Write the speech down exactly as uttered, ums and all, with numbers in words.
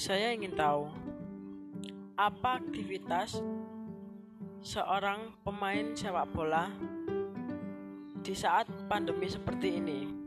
Saya ingin tahu, apa aktivitas seorang pemain sepak bola di saat pandemi seperti ini?